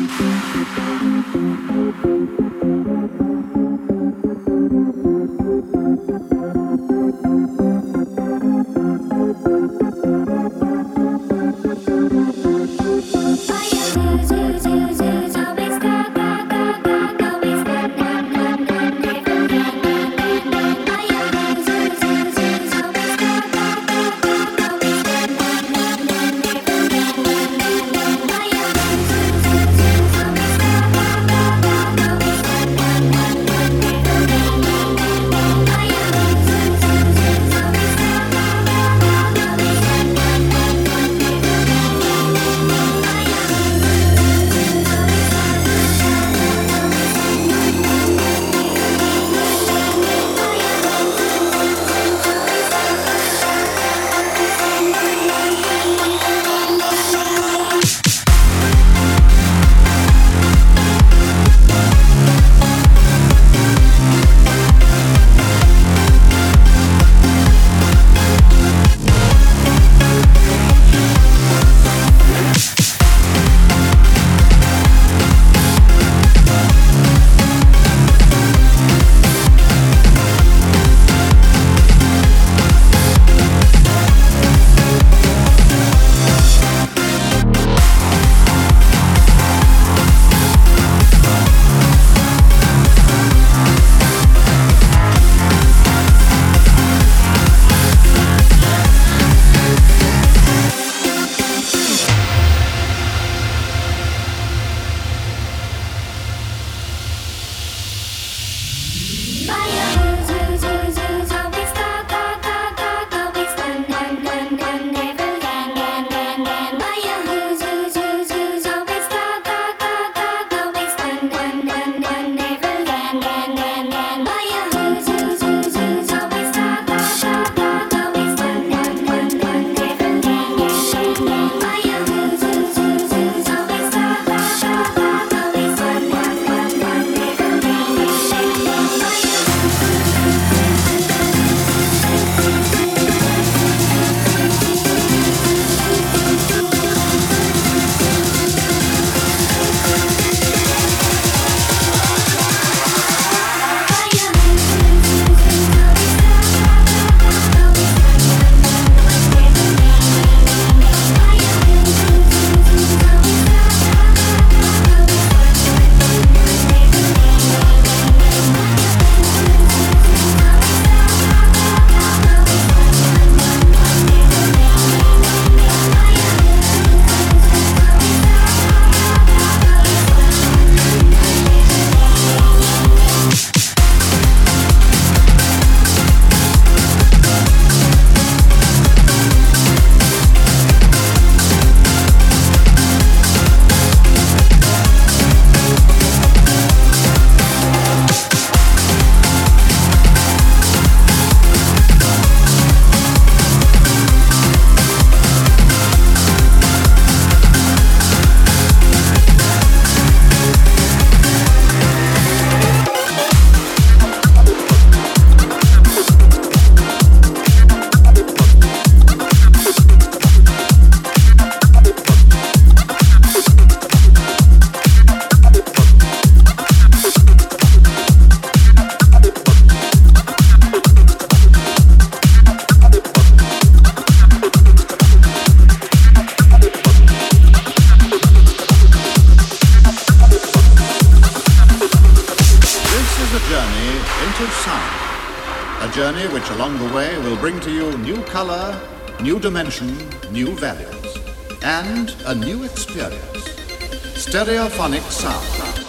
A journey which along the way will bring to you new color, new dimension, new values, and a new experience. Stereophonic sound.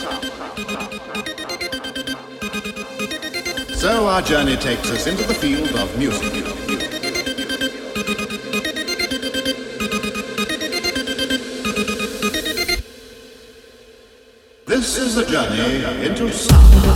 So our journey takes us into the field of music. This is a journey into sound.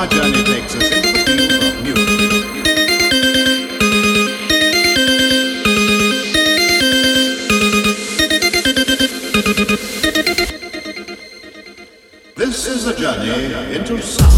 our journey takes us into the field of music. This is a journey into sound.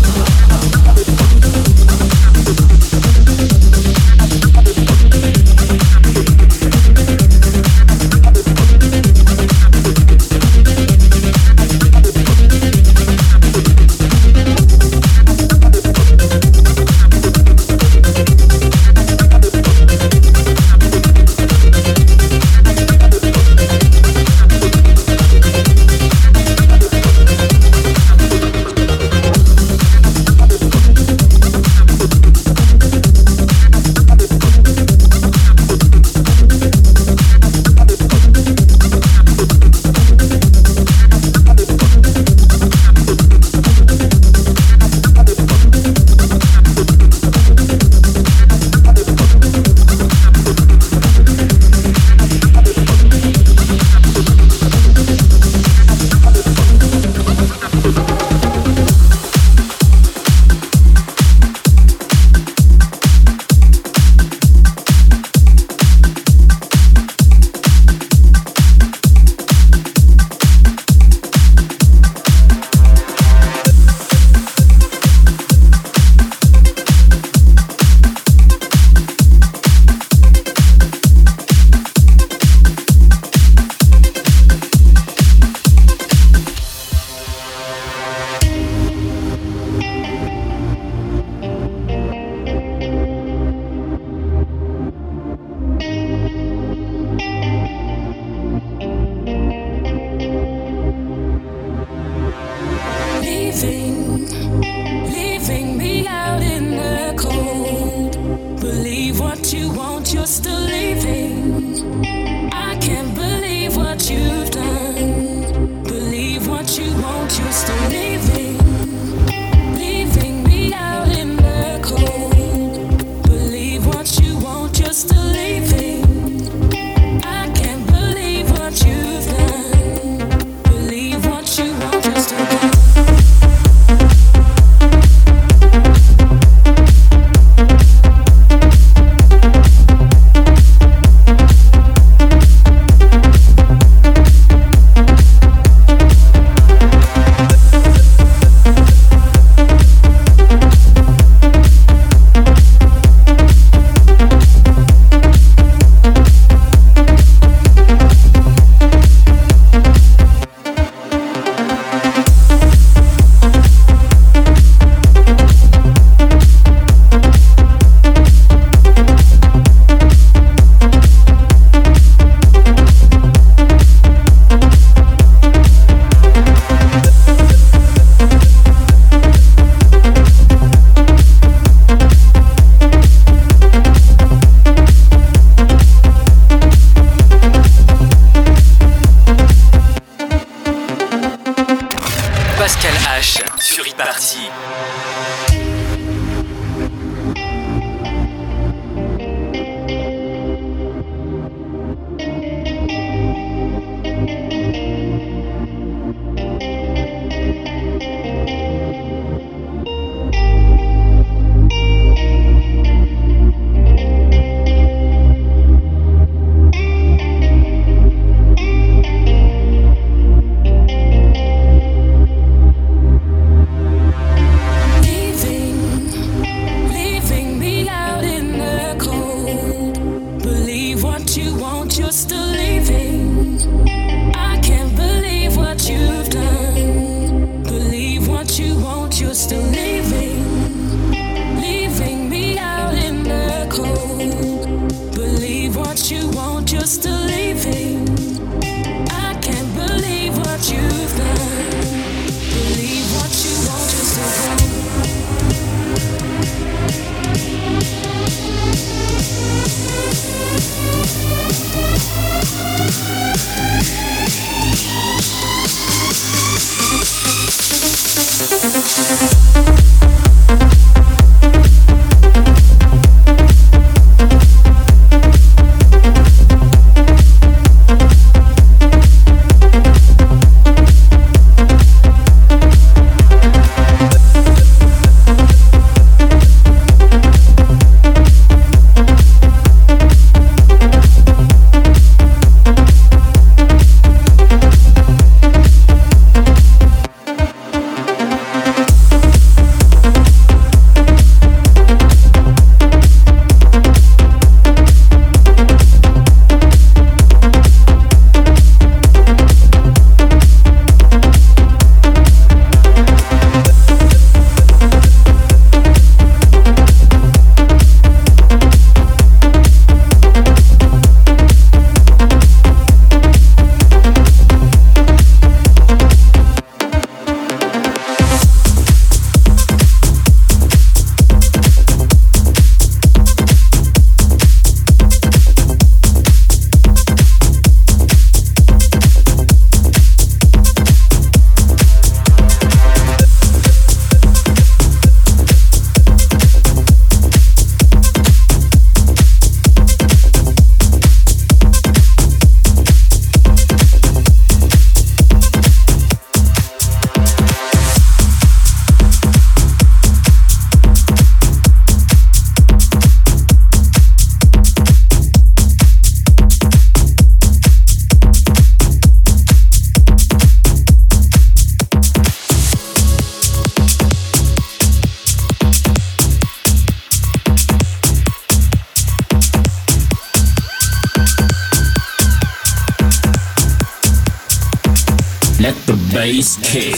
bass kick.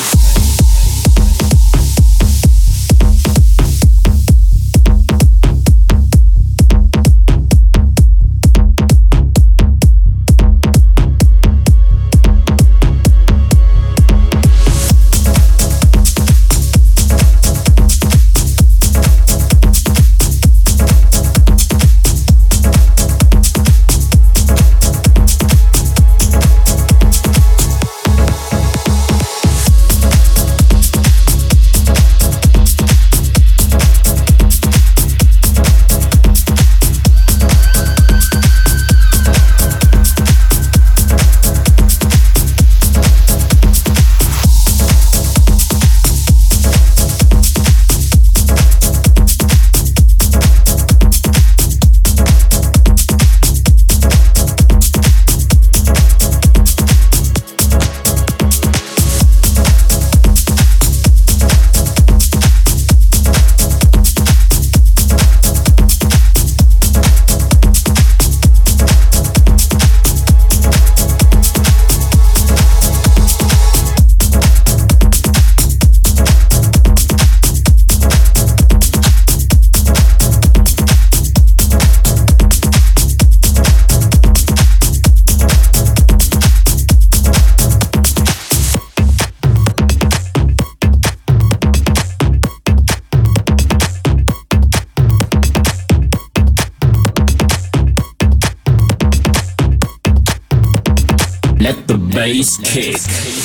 Let the bass kick.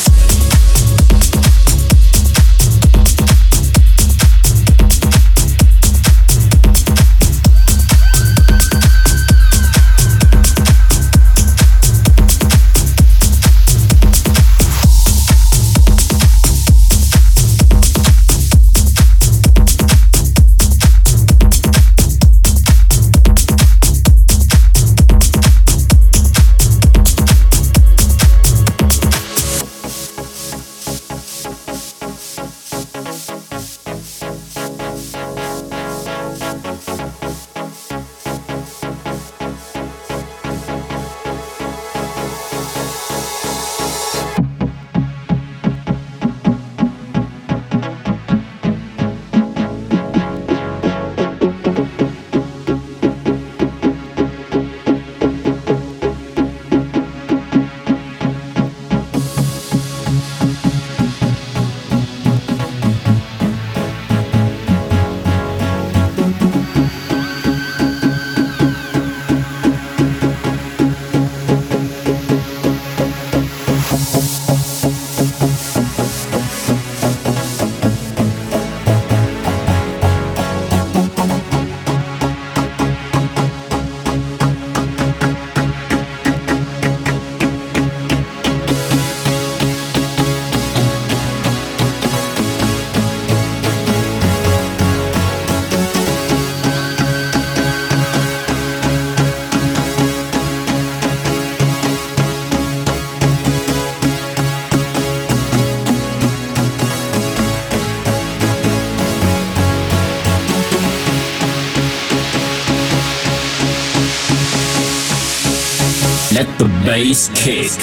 Let the bass kick.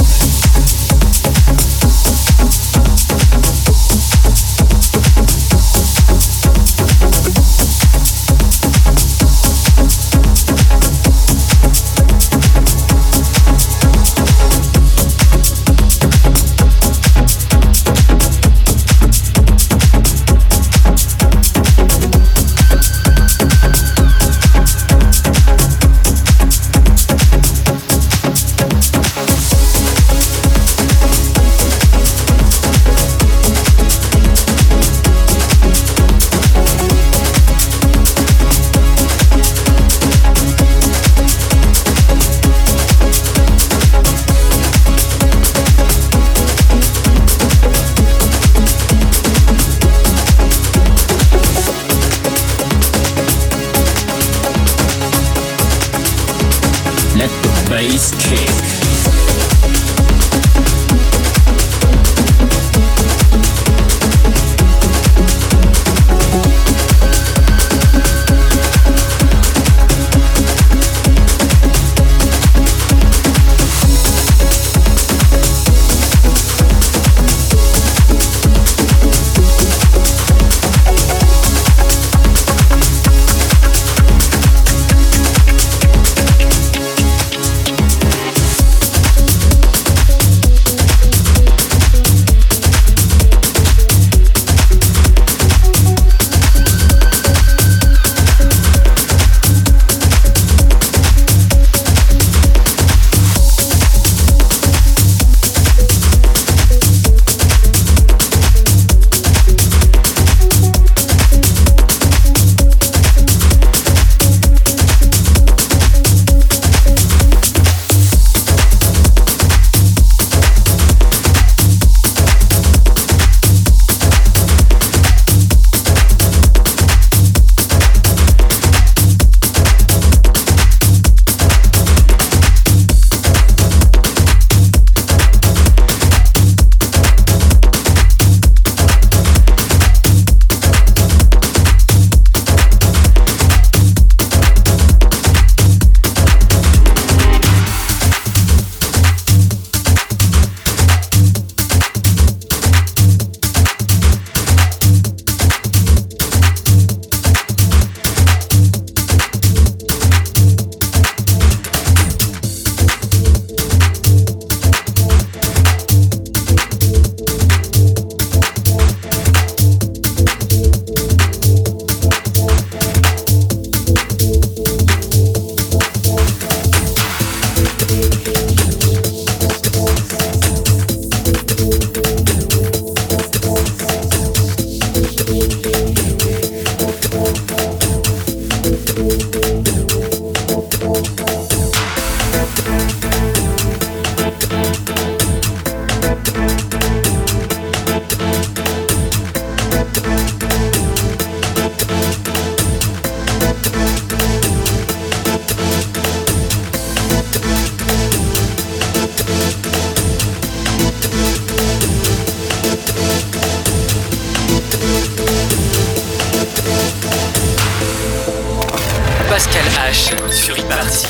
Bass kick. Pascal H sur e-party.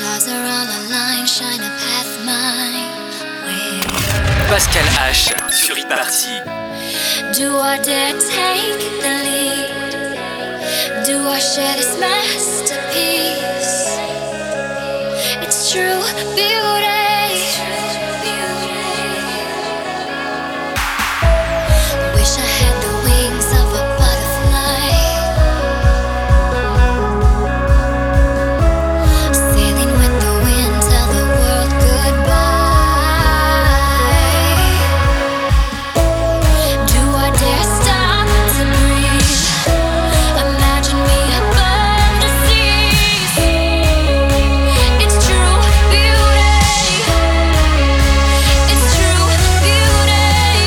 Pascal H sur e-party. Do I dare take the lead? Do I share this masterpiece? It's true beauty. Wish I had the wings of a butterfly, sailing with the wind, tell the world goodbye. Do I dare stop to breathe? Imagine me above the seas. It's true beauty. It's true beauty.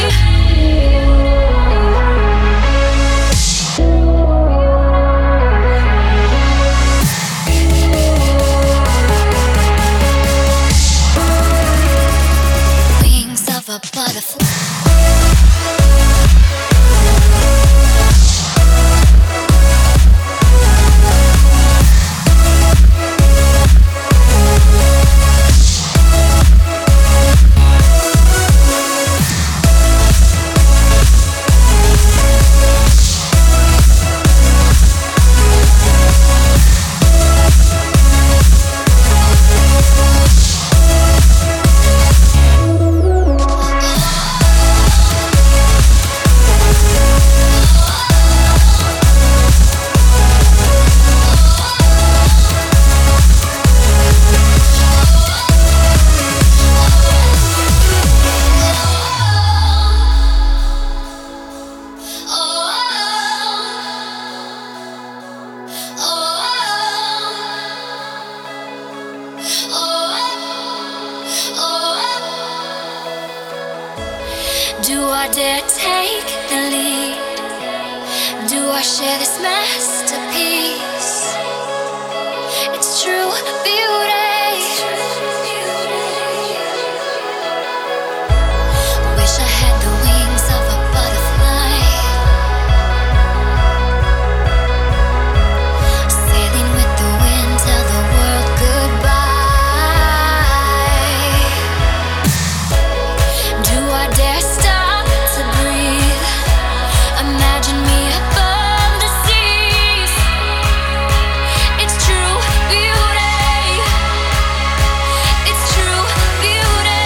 Wings of a butterfly. Do I dare take the lead? Do I share this masterpiece? It's true beauty. Wish I had the wings of a butterfly, sailing with the wind, tell the world goodbye. Do I dare stop to breathe? Imagine me above the seas. It's true beauty. It's true beauty.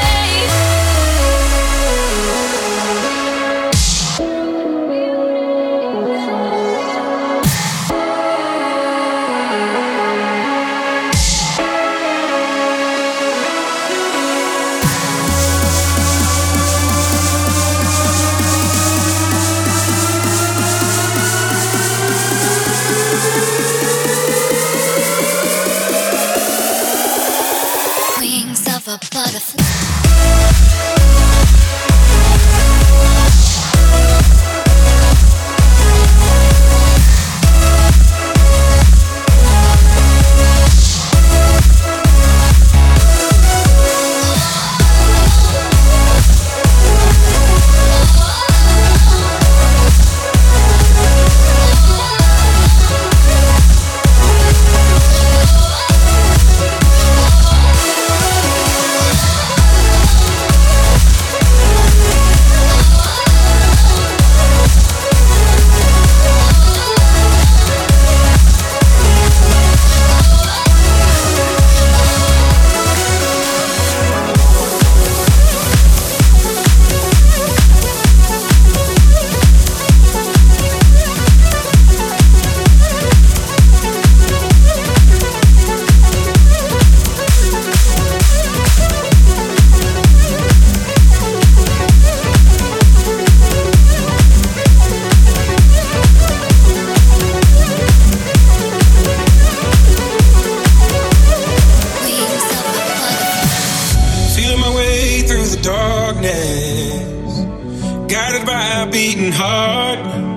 Wings of a butterfly. Wings of a butterfly. Feeling my way through the darkness, guided by a beating heart.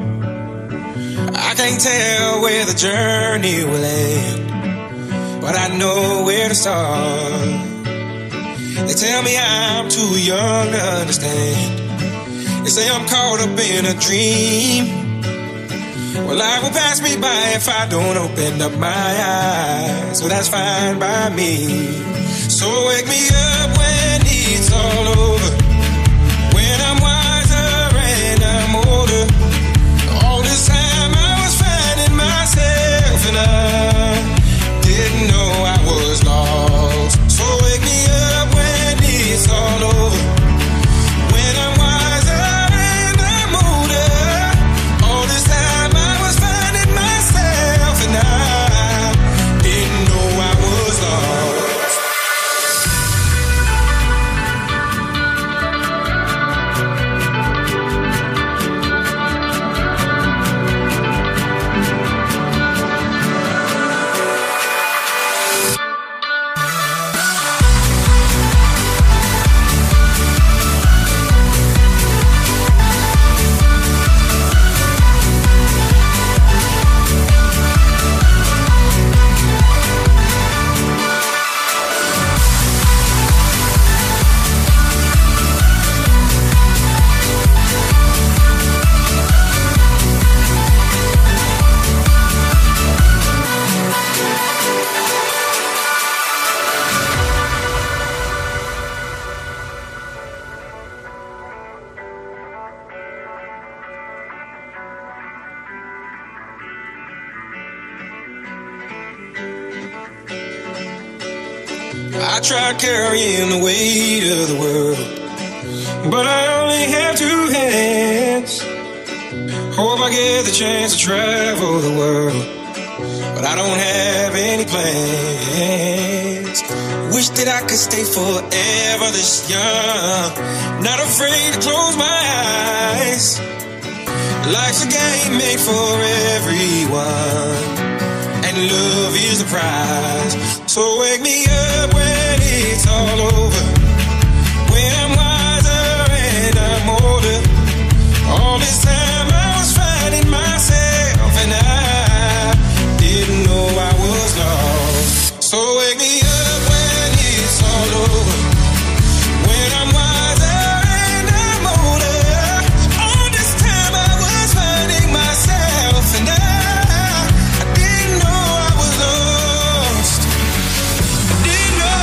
I can't tell where the journey will end, but I know where to start. They tell me I'm too young to understand. They say I'm caught up in a dream. Well, life will pass me by if I don't open up my eyes. So that's fine by me. So wake me up when it's all over, when I'm wiser and I'm older. All this time I was finding myself and I didn't know I was lost. So wake me up when it's all over, when I'm wiser and I'm older. All this time I was finding myself and I didn't know I was lost. I tried carrying the weight of the world, but I only have two hands. Hope I get the chance to travel the world, but I don't have any plans. Wish that I could stay forever this young, not afraid to close my eyes. Life's a game made for everyone, and love is the prize. So wake me up when it's all over, when I'm wiser and I'm older. All this time I was finding myself and I didn't know I was lost. So wake me up when it's all over, when I'm wiser and I'm older. All this time I was finding myself and I didn't know I was lost. I didn't know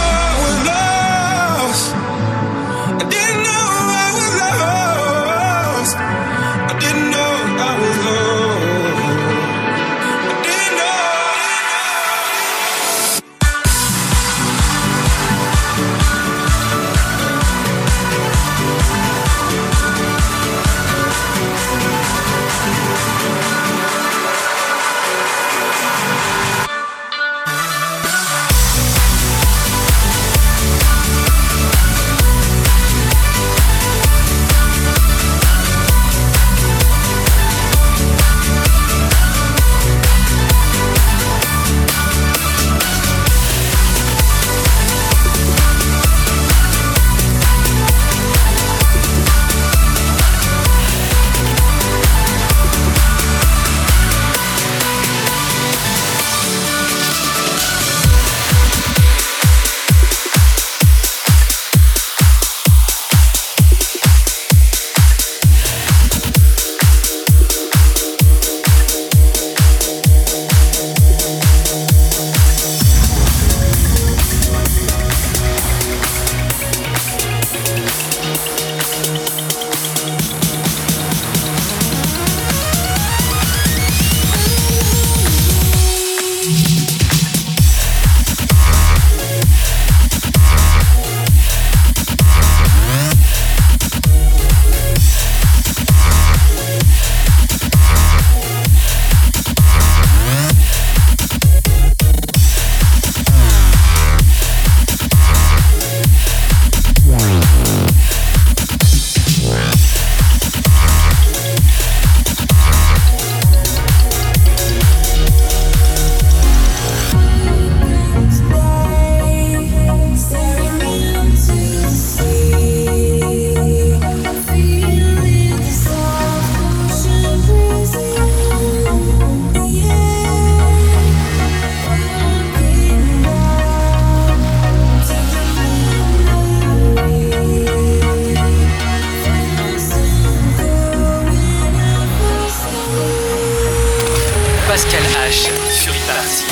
H sur e-party.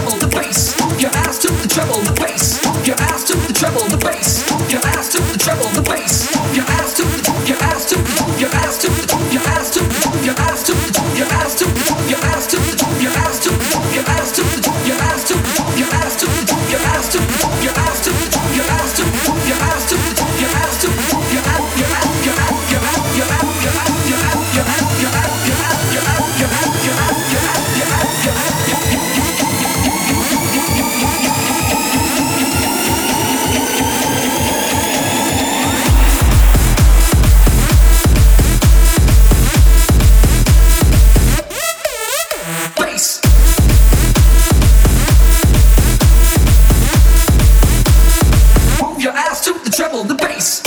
treble, the bass. Move your ass to the treble, the bass. Move your ass to the treble, the bass. Move your ass to the treble, the bass. Move your ass to the, move your ass to the, move your ass to the, move your ass to the, move your ass to the, move your ass to the, move your ass to the, move your ass to the, move your ass to the, move your ass to the, move your ass to the, move your ass to the, move your ass to the, move your ass to the, move your ass to the, move your ass to the, move your ass, your ass, your ass, your ass, your ass, your ass, your ass, your ass, your ass, your ass, your ass, your ass, your ass, your ass, your ass, your ass, your ass. Treble the bass.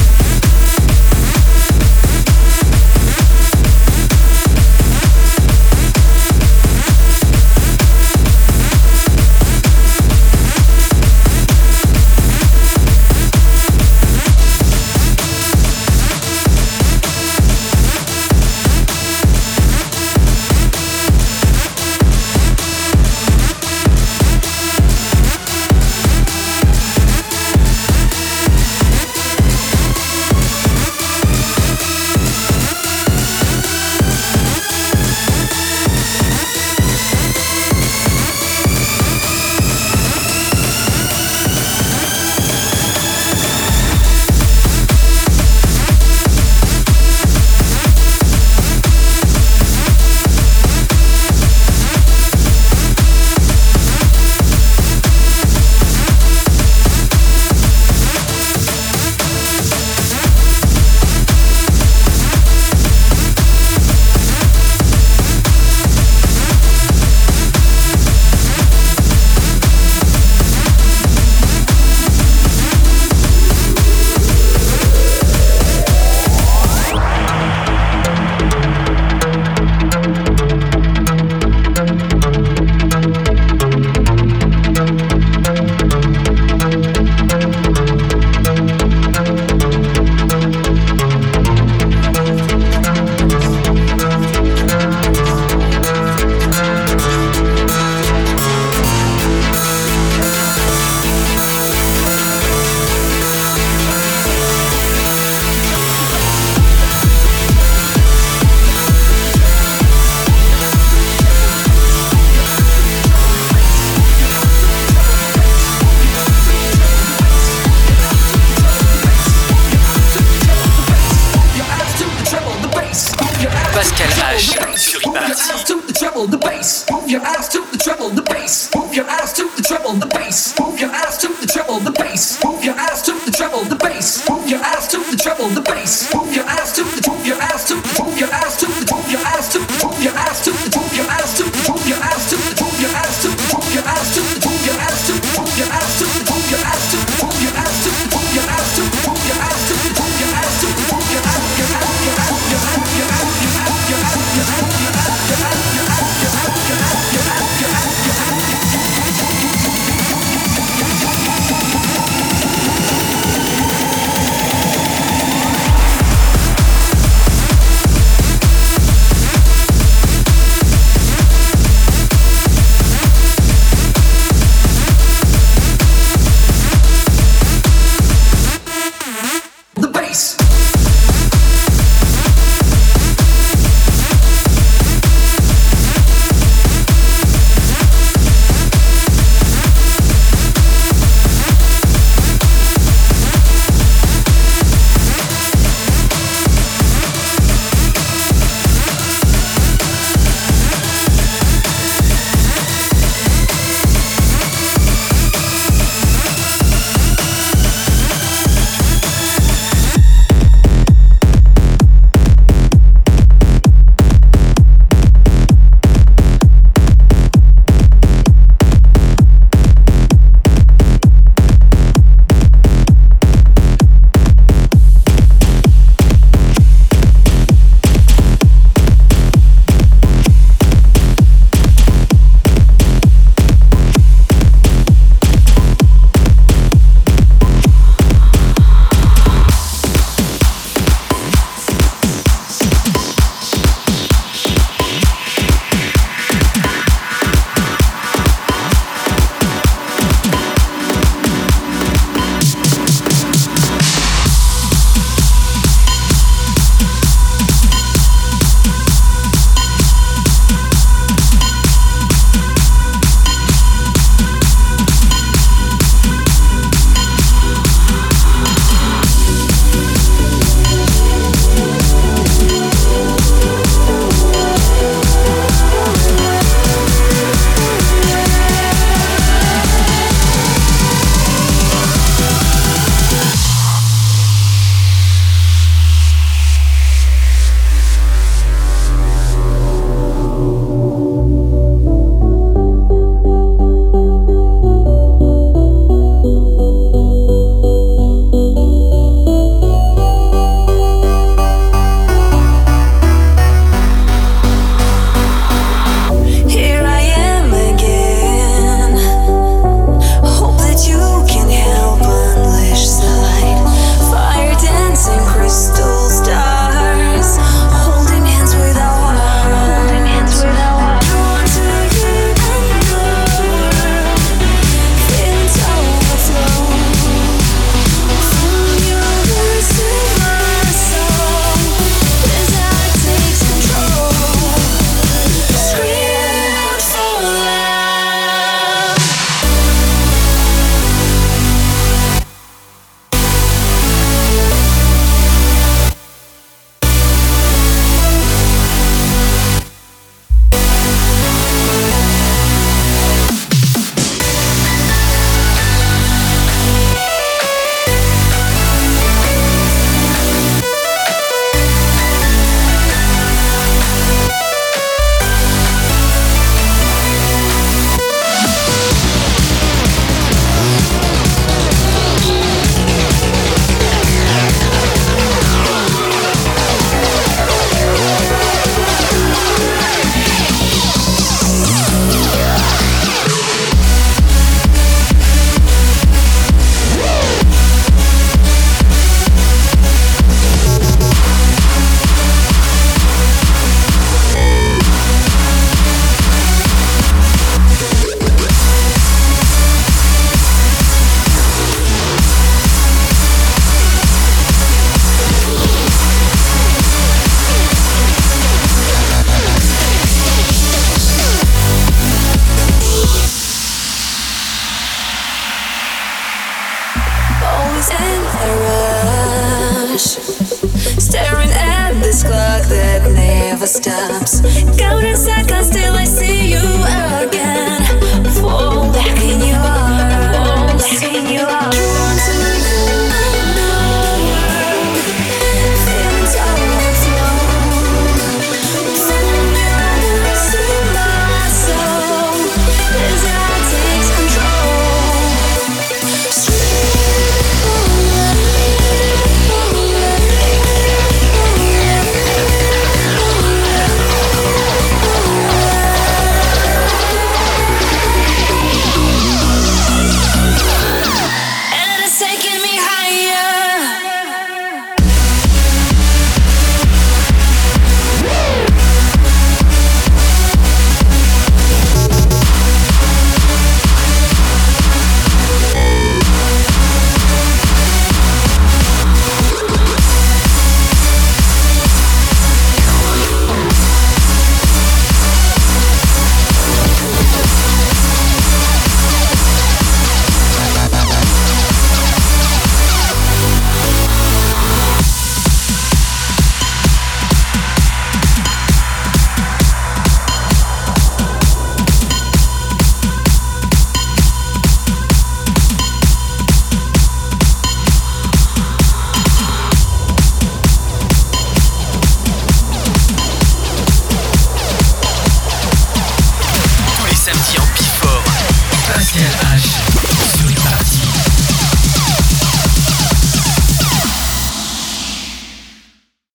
Pascal H sur e-party. To the treble, the bass. Move your ass to the treble, the bass. Move your ass to the treble, the bass. Move your ass to the treble, the bass. Move your ass to the treble, the bass. Move your ass to the treble, the bass. Move your ass to the, move your ass to the, move your ass to the, move your ass to the, move your ass to the, move your ass to the, move your ass to the, move your ass to the, move your ass to the, move your ass to the, move your ass to the, move your ass to the, move your ass to the, move your ass to the, move your ass to the, move your ass to the, move your ass, your ass, your ass, your ass, your ass, your ass, your ass, your ass, your ass, your ass, your ass, your ass, your ass, your ass, your ass, your ass. always in a rush, staring at this clock that never stops. Counting seconds till I see you again. Fall